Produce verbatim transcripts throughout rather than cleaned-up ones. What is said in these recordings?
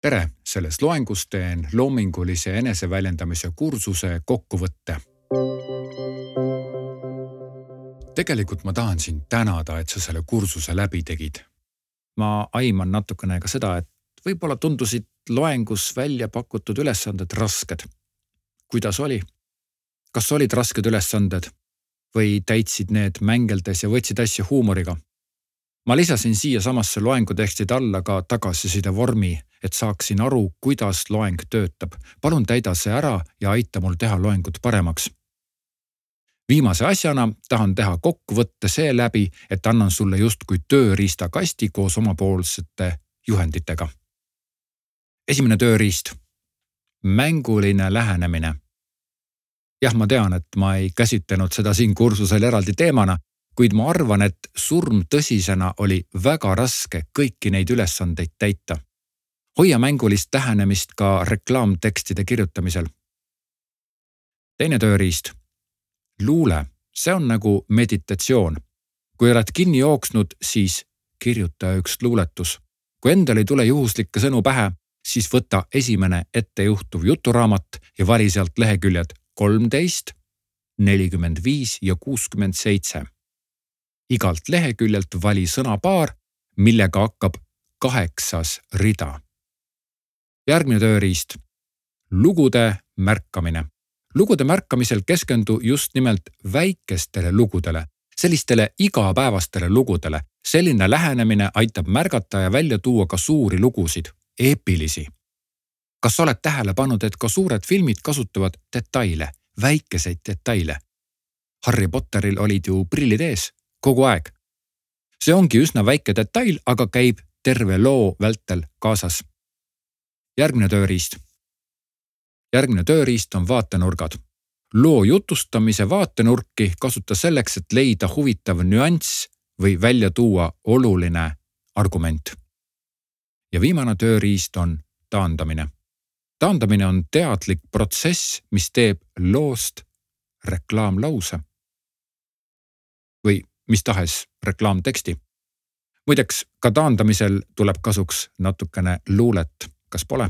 Tere, selles loengus teen loomingulise eneseväljendamise kursuse kokkuvõtte. Tegelikult ma tahan sind tänada, et sa selle kursuse läbi tegid. Ma aiman natukene ka seda, et võib-olla tundusid loengus välja pakutud ülesanded rasked. Kuidas oli? Kas olid rasked ülesanded või täitsid need mängeldes ja võtsid asja huumoriga? Ma lisasin siia samasse loengutekstid alla ka tagasiside vormi, et saaksin aru, kuidas loeng töötab. Palun täida see ära ja aita mul teha loengut paremaks. Viimase asjana tahan teha kokkuvõtte see läbi, et annan sulle justkui tööriistakasti koos omapoolsete juhenditega. Esimene tööriist. Mänguline lähenemine. Jah, ma tean, et ma ei käsitlenud seda siin kursusel eraldi teemana, kuid ma arvan, et surm tõsisena oli väga raske kõiki neid ülesandeid täita. Hoia mängulist lähenemist ka reklaamtekstide kirjutamisel. Teine tööriist. Luule. See on nagu meditatsioon. Kui oled kinni jooksnud, siis kirjuta üks luuletus. Kui endal ei tule juhuslikke sõnu pähe, siis võta esimene ettejuhtuv juturaamat ja vali sealt leheküljed kolmteist, nelikümmend viis ja kuuskümmend seitse. Igalt leheküljelt vali sõnapaar, millega hakkab kaheksas rida. Järgmine tööriist. Lugude märkamine. Lugude märkamisel keskendu just nimelt väikestele lugudele, sellistele igapäevastele lugudele. Selline lähenemine aitab märgata ja välja tuua ka suuri lugusid, eepilisi. Kas oled tähele pannud, et ka suured filmid kasutavad detaile, väikeseid detaile? Harry Potteril olid ju prillid ees kogu aeg. See ongi üsna väike detail, aga käib terve loo vältel kaasas. Järgmine tööriist. Järgmine tööriist on vaatenurgad. Loo jutustamise vaatenurki kasuta selleks, et leida huvitav nüanss või välja tuua oluline argument. Ja viimane tööriist on taandamine. Taandamine on teadlik protsess, mis teeb loost reklaamlause või mis tahes reklaamteksti. Muideks, ka taandamisel tuleb kasuks natukene luulet, kas pole?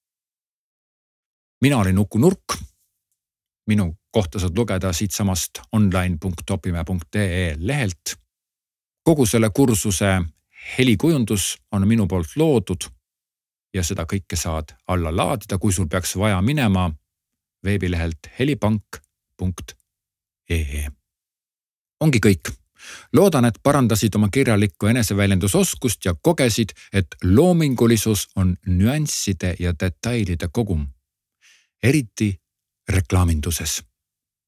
Mina olin Uku Nurk. Minu kohta saad lugeda siit samast online punkt opimäe punkt ee lehelt. Kogu selle kursuse helikujundus on minu poolt loodud ja seda kõike saad alla laadida, kui sul peaks vaja minema veebilehelt helipank punkt ee. Ongi kõik. Loodan, et parandasid oma kirjalikku eneseväljendusoskust ja kogesid, et loomingulisus on nüansside ja detailide kogum. Eriti reklaaminduses.